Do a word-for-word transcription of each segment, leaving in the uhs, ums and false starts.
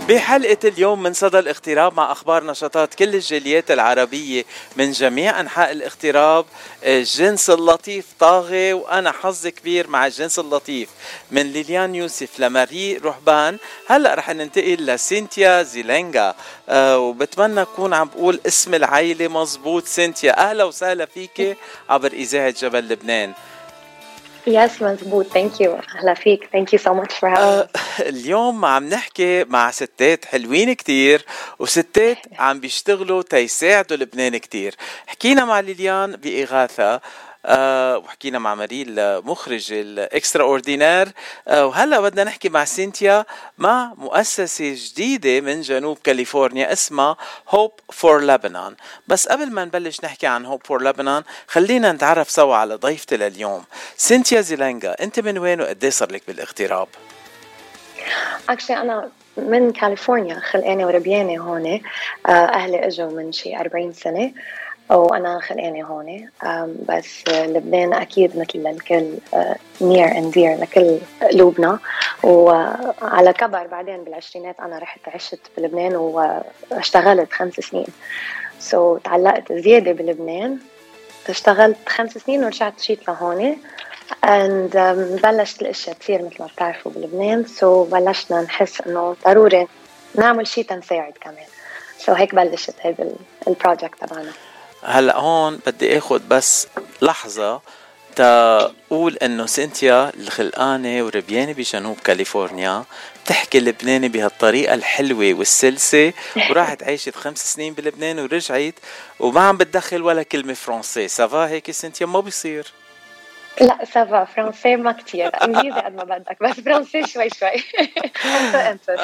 بحلقة اليوم من صدى الاغتراب مع أخبار نشاطات كل الجاليات العربية من جميع أنحاء الاغتراب. الجنس اللطيف طاغي وأنا حظ كبير مع الجنس اللطيف، من ليليان يوسف لماري رهبان. هلأ رح ننتقل لسينتيا زيلينغا، أه وبتمنى أكون عم بقول اسم العائلة مزبوط. سينتيا أهلا وسهلا فيك عبر إذاعة جبل لبنان. Yes, مزبوط. Thank you. أهلا فيك. Thank you so much for having آه me. اليوم عم نحكي مع ستات حلوين كتير وستات عم بيشتغلوا تيساعدوا لبنان كتير. حكينا مع ليليان بإغاثة، آه وحكينا مع ماريل مخرج الإكسترا أوردينار، آه وهلأ بدنا نحكي مع سينتيا مع مؤسسة جديدة من جنوب كاليفورنيا اسمها Hope for Lebanon. بس قبل ما نبلش نحكي عن Hope for Lebanon خلينا نتعرف سوا على ضيفتي لليوم. سينتيا زيلينغا، انت من وين وقديه صار لك بالاغتراب؟ Actually أنا من كاليفورنيا، خلقانة وربيانة هون. أهلي إجوا من شي أربعين سنة وأنا خلقانة هون. بس لبنان أكيد مثل الكل near and dear لكل قلوبنا. وعلى كبر بعدين بالعشرينات أنا رحت عشت بلبنان واشتغلت خمس سنين. so تعلقت زيادة بلبنان، اشتغلت خمس سنين ورجعت جيت لهون. and um, بلشت الاشياء تصير مثل ما بتعرفوا بلبنان. so بلشنا نحس انه ضروري نعمل شيء تنساعد كمان. so هيك بلشت هذا البروجكت تبعنا. هلا هون بدي اخذ بس لحظة تقول انه سينتيا الخلقانة وربيانة بجنوب كاليفورنيا تحكي لبناني بهالطريقة الحلوة والسلسة، وراحت عايشت خمس سنين بلبنان ورجعت وما عم بتدخل ولا كلمة فرنسي. سافا هيك سينتيا؟ ما بيصير. لا سافا، فرنسي ما كتير، انجليزي قد ما بدك، بس فرنسي شوي شوي. انت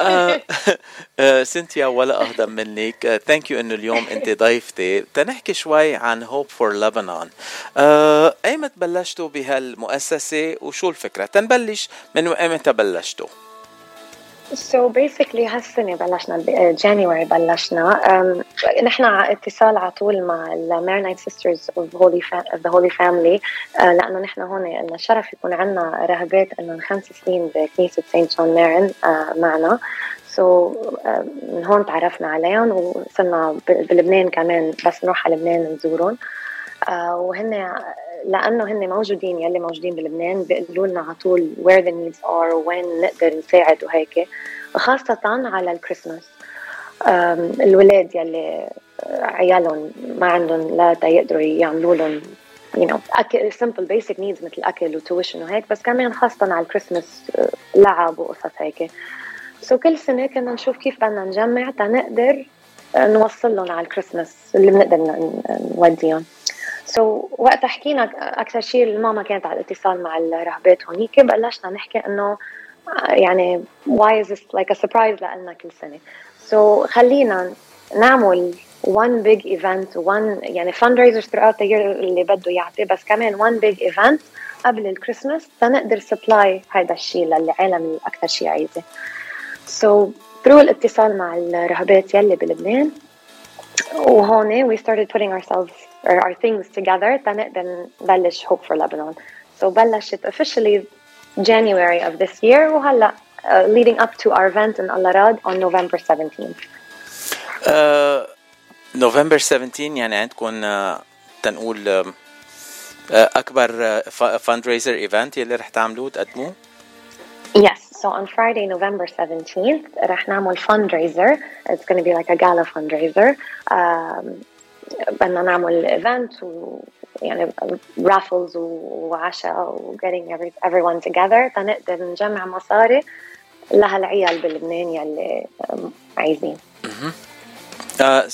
انت سينتيا ولا اهضم منك. ثانك يو انه اليوم انت ضيفتي. تنحكي شوي عن هوب فور لبنان. ايمت بلشتوا بهالمؤسسة وشو الفكرة؟ تنبلش من ايمتى بلشتوا؟ So basically هالسنة بلشنا January بلشنا. um, نحن اتصال على طول مع ال Maronite Sisters of Holy Fa- of the Holy Family. uh, لأنه نحن هون لنا الشرف يكون عنا راهبات إنه خمس سنين بكنيسة سانت جون مارن uh, معنا. so uh, من هون تعرفنا عليهم وصرنا بلبنان كمان، بس نروح على لبنان نزورهم. uh, وهن لأنه هن موجودين، يلي موجودين بلبنان بيقولوا لنا على طول where the needs are وين نقدر نساعد وهيك، خاصة على الكريسماس. الولاد يلي عيالهم ما عندهم لا يقدروا يعملوا لهم you know أكل simple basic needs مثل أكل وتويشن وهيك، بس كمان خاصة على الكريسماس لعب وقصص هيك. so كل سنة كنا نشوف كيف بدنا نجمع تنقدر نوصل لهم على الكريسماس اللي بنقدر نوديهم. so وقت حكينا أكثر شيء الماما كانت على الاتصال مع الرهبات هونيك، بلشنا نحكي إنه يعني why is this like a surprise لنا كل سنة. so خلينا نعمل one big event one يعني fundraisers throughout the year اللي بده يعطي، بس كمان one big event قبل الكريسماس تنقدر supply هيدا الشيء للعالم اللي أكثر شيء عايزة. so through الاتصال مع الرهبات يلي بلبنان وهون we started putting ourselves or our things together تنقدر نبلش Hope for Lebanon. so بلشت officially January of this year وهلا uh, leading up to our event in Al-Arad on November seventeenth. uh, November seventeenth يعني عندكم uh, تنقول uh, أكبر uh, fundraiser event يلي رح تعملوه تقدموه؟ Yes, so on Friday November seventeenth رح نعمل fundraiser. It's going to be like a gala fundraiser. um, بدنا نعمل event و يعني raffles وعشاء و getting every, everyone together تنقدر نجمع مصاري لهالعيال بلبنان يلي عايزين. آه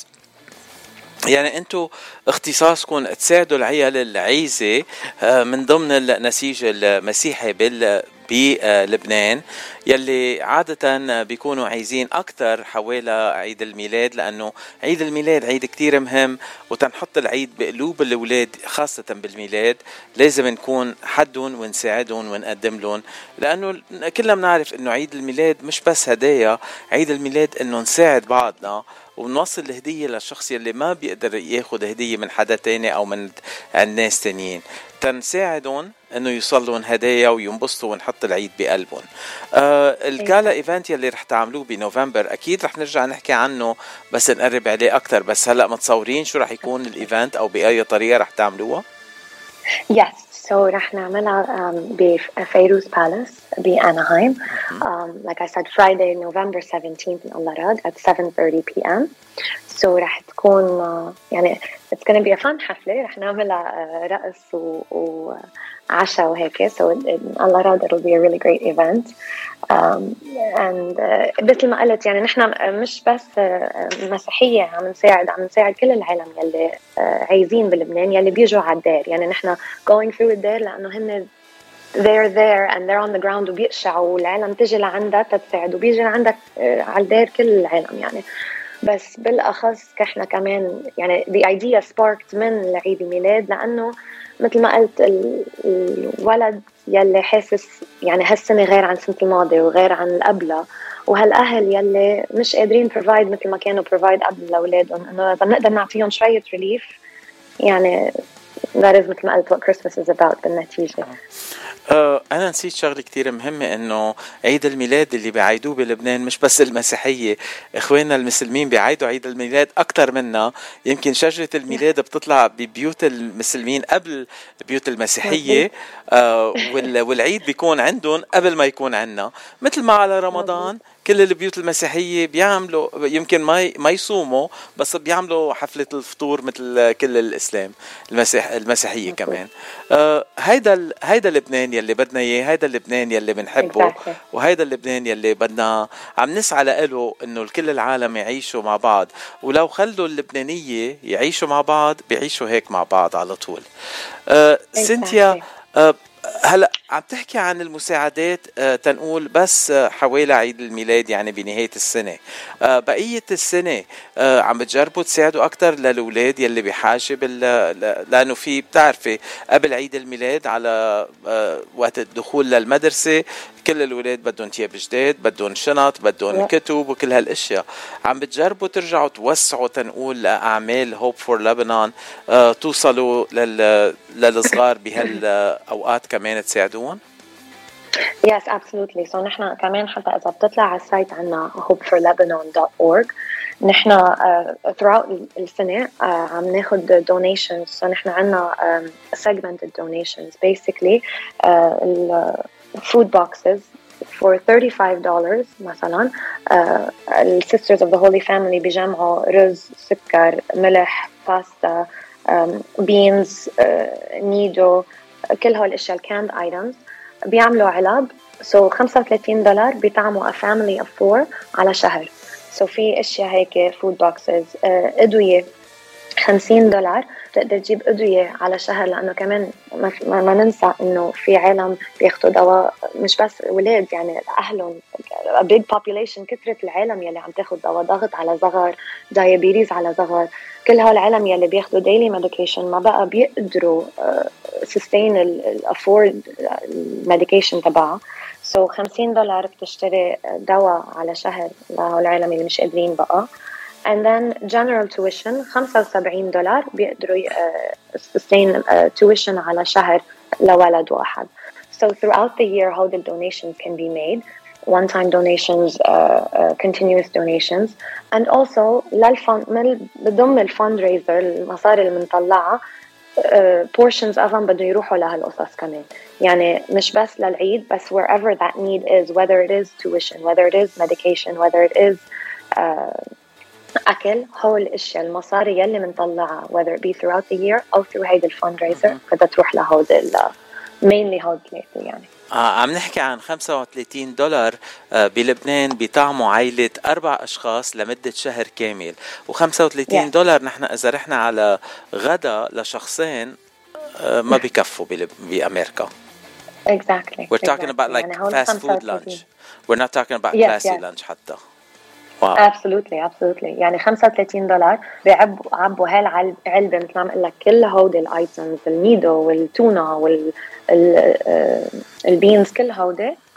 يعني انتو اختصاصكم تساعدوا العيال العايزة من ضمن النسيج المسيحي بال بلبنان يلي عادة بيكونوا عايزين أكتر حوالي عيد الميلاد، لأنه عيد الميلاد عيد كتير مهم، وتنحط العيد بقلوب الأولاد خاصة بالميلاد لازم نكون حدهم ونساعدهم ونقدم لهم، لأنه كلنا بنعرف أنه عيد الميلاد مش بس هدايا، عيد الميلاد أنه نساعد بعضنا ونوصل الهدية للشخص يلي ما بيقدر ياخد هدية من حدا تاني أو من الناس تانيين، تنساعدهم انه يوصلون هدايا وينبسطوا ونحط العيد بقلبهم. آه الجالا ايفنت يلي رح تعملوه بنوفمبر اكيد رح نرجع نحكي عنه بس نقرب عليه اكتر، بس هلا متصورين شو رح يكون الايفنت او باي طريقه رح تعملوها؟ Yes, so رح نعملها um, بفيروز بالاس بأناهايم. um, like I said, Friday, November seventeenth in Al-Arad at seven thirty p m So رح تكون uh, يعني it's gonna be a fun حفلة. رح نعملها uh, رقص و, و عشاء وهيك. So in, in Al-Arad it'll be a really great event. um, and uh, مثل ما قلت يعني نحن مش بس uh, مسيحية، عم نساعد عم نساعد كل العالم يلي uh, عايزين بلبنان يلي بيجوا على الدار. يعني نحن going through الدار لأنه هن they're there and they're on the ground وبيقشعوا والعالم تجي لعندها تتساعد وبيجي لعندك uh, على الدار كل العالم يعني. بس بالأخص احنا كمان يعني the idea sparked من عيد الميلاد لأنه مثل ما قلت الولد يلي حاسس يعني هالسنة غير عن السنة الماضية وغير عن القبلة، وهالأهل يلي مش قادرين provide مثل ما كانوا provide قبل لأولادهم، إنه إذا بنقدر نعطيهم شوية relief يعني that is مثل ما قلت what Christmas is about بالنتيجة. أه أنا نسيت شغلة كتير مهمة، إنه عيد الميلاد اللي بيعيدوه بلبنان مش بس المسيحية، إخواننا المسلمين بيعيدوا عيد الميلاد أكتر منا. يمكن شجرة الميلاد بتطلع ببيوت المسلمين قبل بيوت المسيحية، أه والعيد بيكون عندهم قبل ما يكون عنا. مثل ما على رمضان كل البيوت المسيحية بيعملوا يمكن ما ما يصوموا بس بيعملوا حفلة الفطور مثل كل الإسلام المسيح المسيحية كمان. آه هيدا هيدا لبنان يلي بدنا إياه، هيدا لبنان يلي بنحبه، exactly. وهيدا لبنان يلي بدنا عم نسعى له إنه كل العالم يعيشوا مع بعض. ولو خلوا اللبنانية يعيشوا مع بعض بيعيشوا هيك مع بعض على طول. آه exactly. سينتيا، آه هلا عم تحكي عن المساعدات آه تنقول بس آه حوالي عيد الميلاد يعني بنهاية السنة، آه بقية السنة آه عم بتجربوا تساعدوا أكتر للأولاد يلي بحاجة بال... لأنه في بتعرفي قبل عيد الميلاد على آه وقت الدخول للمدرسة كل الأولاد بدهم تياب جداد، بدهم شنط، بدهم كتب وكل هالأشياء. عم بتجربوا ترجعوا توسعوا تنقول لأعمال هوب فور لبنان آه توصلوا لل... للصغار بهالأوقات كمان تساعدون؟ Yes, absolutely. So نحن كمان حتى إذا بتطلع على السايت عنا hope for lebanon dot org نحن uh, throughout السنة uh, عم ناخد donations. So نحن عنا um, segmented donations basically uh, food boxes for thirty-five dollars مثلا. uh, ال Sisters of the Holy Family بيجمعوا رز، سكر، ملح، باستا، um, beans, uh, نيدو، كل هول الاشياء canned items بيعملوا علب. so خمسة وثلاثين دولار بيطعموا a family of four على شهر. so في اشياء هيك food boxes. uh, ادوية خمسين دولار تقدر تجيب ادوية على شهر، لانه كمان ما, ما ننسى انه في عالم بياخدوا دواء مش بس ولاد يعني اهلهم a big population. كثرة العالم يلي عم تاخد دواء ضغط على صغر، diabetes على صغر، كل هالعالم يلي بياخدوا daily medication ما بقى بيقدروا uh, sustain ال afford medication تبعها. so خمسين دولار بتشتري دواء على شهر لهالعالم اللي مش قادرين بقى. and then general tuition خمسة وسبعين دولار بيقدروا uh, sustain uh, tuition على شهر لولد واحد. so throughout the year how the donations can be made, one-time donations, uh, uh, continuous donations, and also للفن بضم الفاندريزر المصاري اللي بنطلعها uh, portions of them بدهم يروحوا لهالقصص كمان. يعني مش بس للعيد بس wherever that need is, whether it is tuition, whether it is medication, whether it is uh, أكل، هول الأشياء المصاري يلي منطلعها whether it be throughout the year أو through هيدا الفاندريزر بدها تروح لهود ال mainly هود ثلاثة يعني. آه عم نحكي عن خمسة وثلاثين دولار آه بلبنان بيطعموا عائلة أربع أشخاص لمدة شهر كامل، وخمسة وثلاثين yeah. دولار نحن إذا رحنا على غدا لشخصين آه ما بيكفوا بأمريكا. Exactly. We're talking exactly. about like يعني fast food lunch. We're not talking about yes, classy yes. lunch حتى. Wow. Absolutely, absolutely. يعني خمسة وثلاثين دولار بيعبوا عبوا هالعلبة مثل ما عم لك كل هودي الايتمز، الميدو والتونة وال البينز كل هودي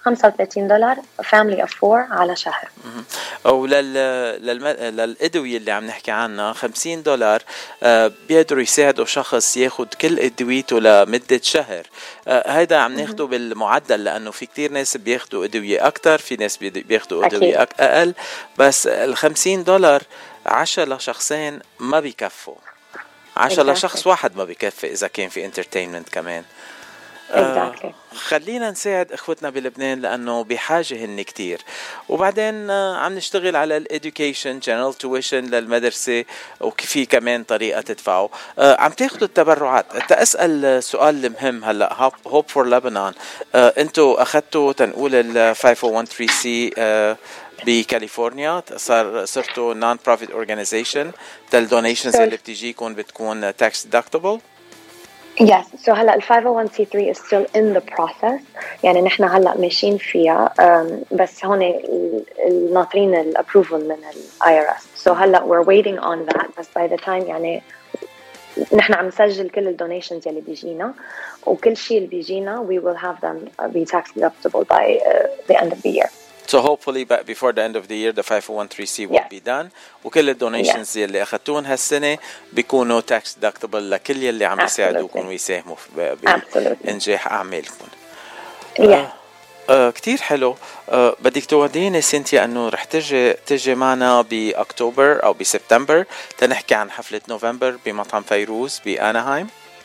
خمسة وثلاثين دولار family of four على شهر. أو لل للم... للأدوية اللي عم نحكي عنها خمسين دولار آه بيقدروا يساعدوا شخص ياخد كل أدويته لمدة شهر. آه هيدا عم ناخده بالمعدل لأنه في كتير ناس بياخدوا أدوية أكتر، في ناس بياخدوا أدوية أك... أقل، بس الخمسين دولار عشرة لشخصين ما بيكفوا، عشرة exactly. لشخص واحد ما بيكفي إذا كان في entertainment كمان. exactly. آه خلينا نساعد اخوتنا بلبنان لانه بحاجه هن كتير. وبعدين آه عم نشتغل على الاديوكيشن جنرال تويشن للمدرسه، وفي كمان طريقه تدفعوا. آه عم تاخذوا التبرعات. انت اسال سؤال مهم هلا، هوب فور لبنان آه انتوا اخذتوا تنقول ال خمسة مية وثلاثة سي آه بكاليفورنيا، صار صرتوا نون بروفيت اورجانيزيشن، الدونيشنز اللي بتجيكم بتكون tax deductible. Yes, so هلا ال five oh one c three is still in the process. يعني نحن هلا ماشيين فيها um, بس هون ناطرين ال approval من ال I R S. So هلا we're waiting on that. بس by the time يعني نحن عم نسجل كل ال donations يلي بيجينا، وكل شيء اللي بيجينا we will have them be tax deductible by uh, the end of the year. So hopefully before the end of the year the five oh one c three will yes. be done. وكل الدونيشنز yes. اللي أخذتون هالسنة بيكونوا tax deductible لكل يلي عم يساعدوكم ويساهموا بإنجاح أعمالكم. yes. آه آه كتير حلو. آه بدك توديني سينتيا أنه رح تجي تجي معنا بأكتوبر أو بسبتمبر تنحكي عن حفلة نوفمبر بمطعم فيروز بأناهايم.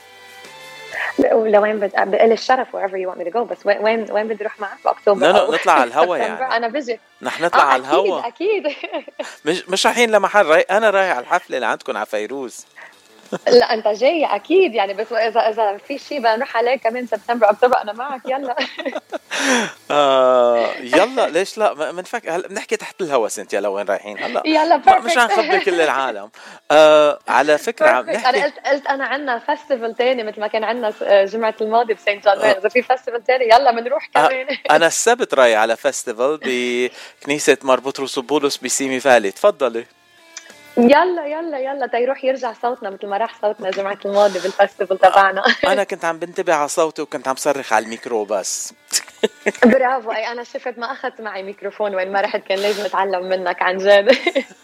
لوين بد بقل الشرف wherever you want me to go، بس وين وين بدي اروح معك باكتوبر؟ لا لا نطلع على الهوا يعني. انا بجي نحن نطلع آه على الهوا اكيد اكيد مش مش رايحين لمحل راي... انا رايح على الحفله اللي عندكم على فيروز. لا انت جاي اكيد يعني، بس اذا اذا في شيء بنروح عليه كمان سبتمبر اكتوبر انا معك. يلا آه يلا ليش لا بنفك هلا بنحكي تحت الهوا سنتيا لوين رايحين هلا. يلا perfect. مش هنخبر كل العالم. آه على فكره عم نحكي انا قلت قلت انا عندنا فيستيفال تاني مثل ما كان عندنا جمعه الماضي بسانت جون. آه. اذا في فيستيفال تاني يلا بنروح كمان. آه انا السبت رايح على فيستيفال بكنيسه مار بطرس وبولس بسيمي فالي. تفضلي. يلا يلا يلا تيروح يرجع صوتنا مثل ما راح صوتنا جمعة الماضي بالفستيفال تبعنا. أنا كنت عم بنتبه على صوتي وكنت عم صرخ على الميكرو بس. برافو. أي أنا شفت ما أخذت معي ميكروفون وين ما رحت، كان لازم أتعلم منك عن جد.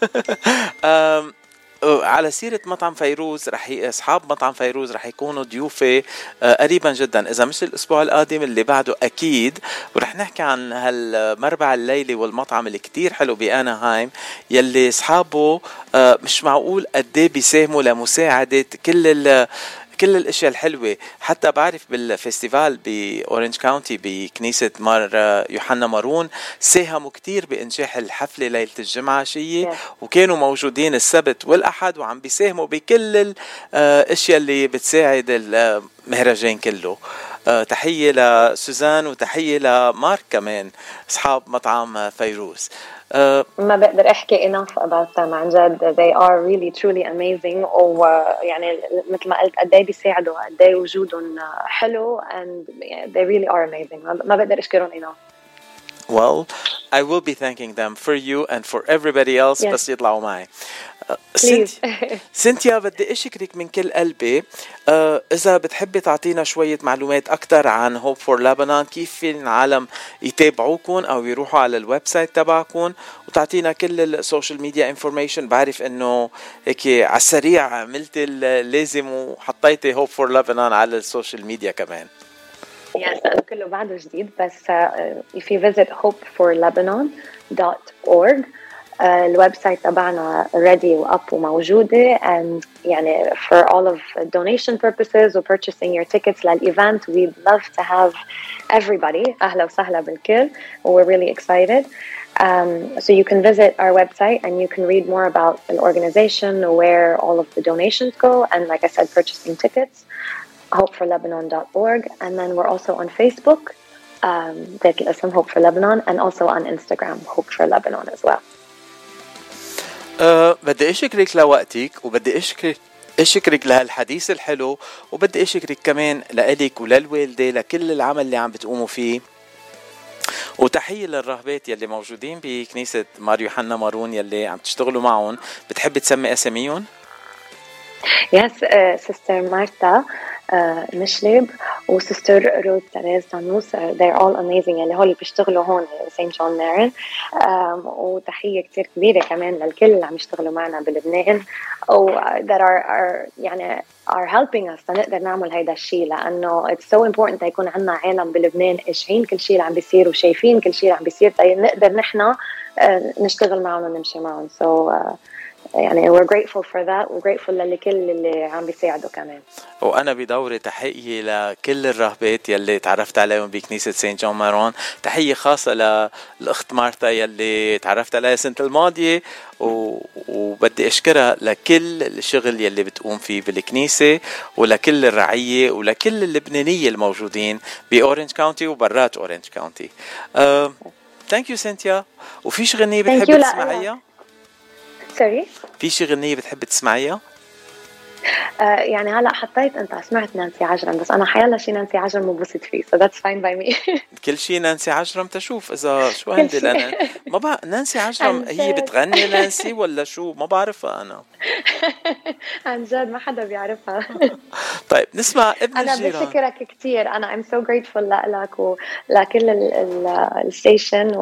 على سيرة مطعم فيروز، رح ي... أصحاب مطعم فيروز رح يكونوا ضيوفي قريبا جدا، إذا مش الأسبوع القادم اللي بعده أكيد. ورح نحكي عن هالمربع الليلي والمطعم اللي كتير حلو بأناهايم يلي أصحابه مش معقول قديه بيساهموا لمساعدة كل ال كل الاشياء الحلوه. حتى بعرف بالفيستيفال باورنج كاونتي بكنيسه مار يوحنا مارون ساهموا كتير بانجاح الحفله ليله الجمعه شيء، وكانوا موجودين السبت والاحد وعم بيساهموا بكل الاشياء اللي بتساعد المهرجان كله. تحيه لسوزان وتحيه لمارك كمان اصحاب مطعم فيروز. Uh, ما بقدر احكي enough about them عن جد. they are really truly amazing. ويعني مثل ما قلت قد ايه بيساعدوا، قد ايه وجودهم حلو and they really are amazing. ما بقدر اشكرهم enough. Well, I will be thanking them for you and for everybody else. yes. بس يطلعوا معي. سنتيا سنتيا بدي أشكرك من كل قلبي. آه إذا بتحبي تعطينا شوية معلومات أكتر عن Hope for Lebanon، كيف في العالم يتابعوكم أو يروحوا على الويب سايت تبعكم، وتعطينا كل السوشيال ميديا انفورميشن. بعرف إنه هيك على السريع عملت اللازم وحطيتي Hope for Lebanon على السوشيال ميديا كمان. يس كله بعده جديد، بس uh, if you visit hope for lebanon dot org uh, الويب سايت تبعنا ready واب وموجودة. and يعني for all of donation purposes و purchasing your tickets للإيفنت we'd love to have everybody. أهلا وسهلا بالكل. we're really excited. Um, so you can visit our website and you can read more about the organization, where all of the donations go, and like I said, purchasing tickets. hope for lebanon dot org. And then we're also on Facebook, um, ذات الاسم Hope for Lebanon, and also on Instagram Hope for Lebanon as well. أه بدي أشكرك لوقتك، وبدي أشكرك أشكرك لهالحديث الحلو، وبدي أشكرك كمان لإلك وللوالدة لكل العمل اللي عم بتقوموا فيه. وتحية للرهبات يلي موجودين بكنيسة مار يوحنا مارون يلي عم تشتغلوا معهم. بتحب تسمي أساميهم؟ Yes, uh, Sister Martha مشلب وسيستر روز تريز تانوس. they're all amazing اللي هول بيشتغلوا هون سانت جون مارن. وتحية كتير كبيرة كمان للكل اللي عم يشتغلوا معنا بلبنان و that are, are يعني are helping us نقدر نعمل هيدا الشيء، لأنه it's so important يكون عنا عالم بلبنان إجهين كل شيء اللي عم بيصير وشايفين كل شيء اللي عم بيصير نقدر نحنا نشتغل معهم ونمشي معهم. so uh, يعني we're grateful for that و grateful لكل اللي عم بيساعدوا كمان. وأنا بدوري تحية لكل الراهبات يلي تعرفت عليهم بكنيسة سانت جون مارون. تحية خاصة للأخت مارتا يلي تعرفت عليها السنة الماضية و... وبدي أشكرها لكل الشغل يلي بتقوم فيه بالكنيسة ولكل الرعية ولكل اللبنانية الموجودين بأورنج كاونتي وبرات أورنج كاونتي. uh, thank you سينتيا. وفيش غنية بتحب تسمعيها؟ سوري في شي غنية بتحب تسمعيها؟ آه يعني هلا حطيت انت سمعت نانسي عجرم، بس انا حيلا شي نانسي عجرم مبسوط فيه so that's fine by me. كل شي نانسي عجرم تشوف اذا شو عندي لنا ما بقى نانسي عجرم هي بتغني نانسي ولا شو ما بعرفها انا. عن جد ما حدا بيعرفها. طيب نسمع ابن أنا الجيران. أنا بشكرك كتير. أنا I'm so grateful لك ولكل الستيشن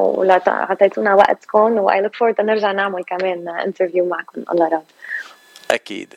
وعطيتونا وقتكم و I look forward نرجع نعمل كمان interview معكم الله راد. أكيد.